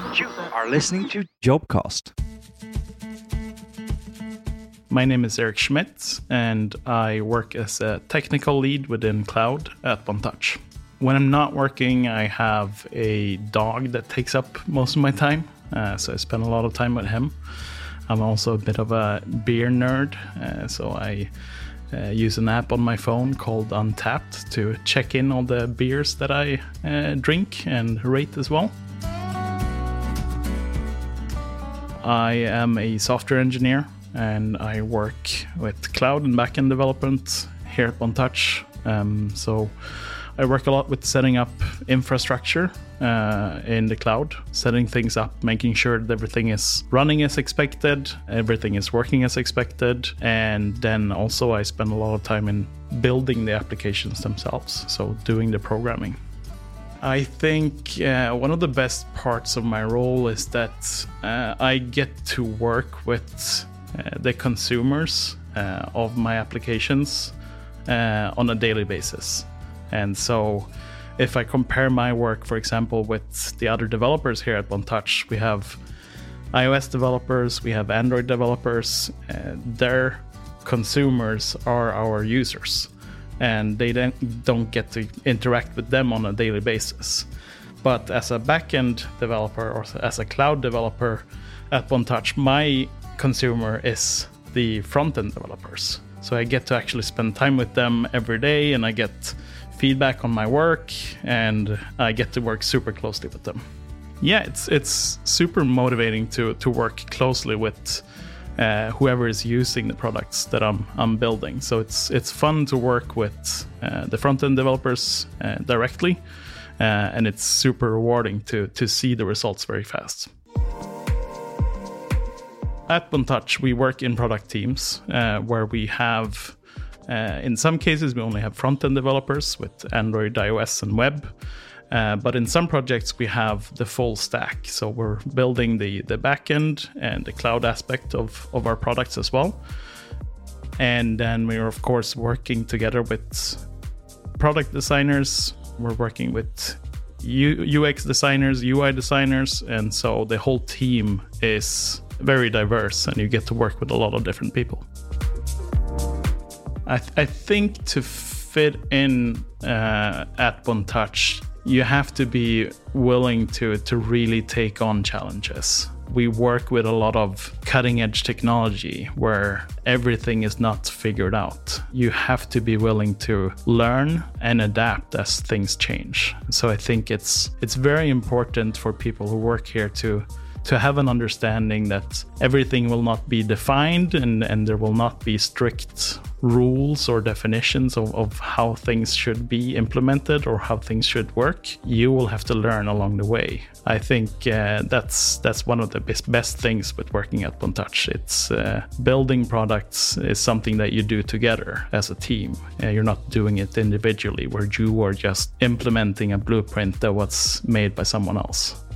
You are listening to Jobcast. My name is Eric Schmidt, and I work as a technical lead within cloud at OneTouch. When I'm not working, I have a dog that takes up most of my time, so I spend a lot of time with him. I'm also a bit of a beer nerd, so I use an app on my phone called Untapped to check in all the beers that I drink and rate as well. I am a software engineer, and I work with cloud and backend development here at OneTouch. So I work a lot with setting up infrastructure in the cloud, setting things up, making sure that everything is running as expected, everything is working as expected. And then also I spend a lot of time in building the applications themselves, so doing the programming. I think one of the best parts of my role is that I get to work with the consumers of my applications on a daily basis. And so if I compare my work, for example, with the other developers here at OneTouch, we have iOS developers, we have Android developers. Their consumers are our users, and they don't get to interact with them on a daily basis. But as a backend developer or as a cloud developer at OneTouch, my consumer is the front-end developers. So I get to actually spend time with them every day, and I get feedback on my work, and I get to work super closely with them. Yeah, it's super motivating to work closely with whoever is using the products that I'm building. So it's fun to work with the front-end developers directly, and it's super rewarding to see the results very fast. At OneTouch, we work in product teams where we have, in some cases, we only have front-end developers with Android, iOS, and web. But in some projects, we have the full stack. So we're building the backend and the cloud aspect of our products as well. And then we're, of course, working together with product designers. We're working with UX designers, UI designers. And so the whole team is very diverse, and you get to work with a lot of different people. I think to fit in at OneTouch, you have to be willing to really take on challenges. We work with a lot of cutting edge technology where everything is not figured out. You have to be willing to learn and adapt as things change. So I think it's very important for people who work here to have an understanding that everything will not be defined, and there will not be strict rules or definitions of how things should be implemented or how things should work. You will have to learn along the way. I think that's one of the best things with working at OneTouch. It's building products is something that you do together as a team. You're not doing it individually where you are just implementing a blueprint that was made by someone else.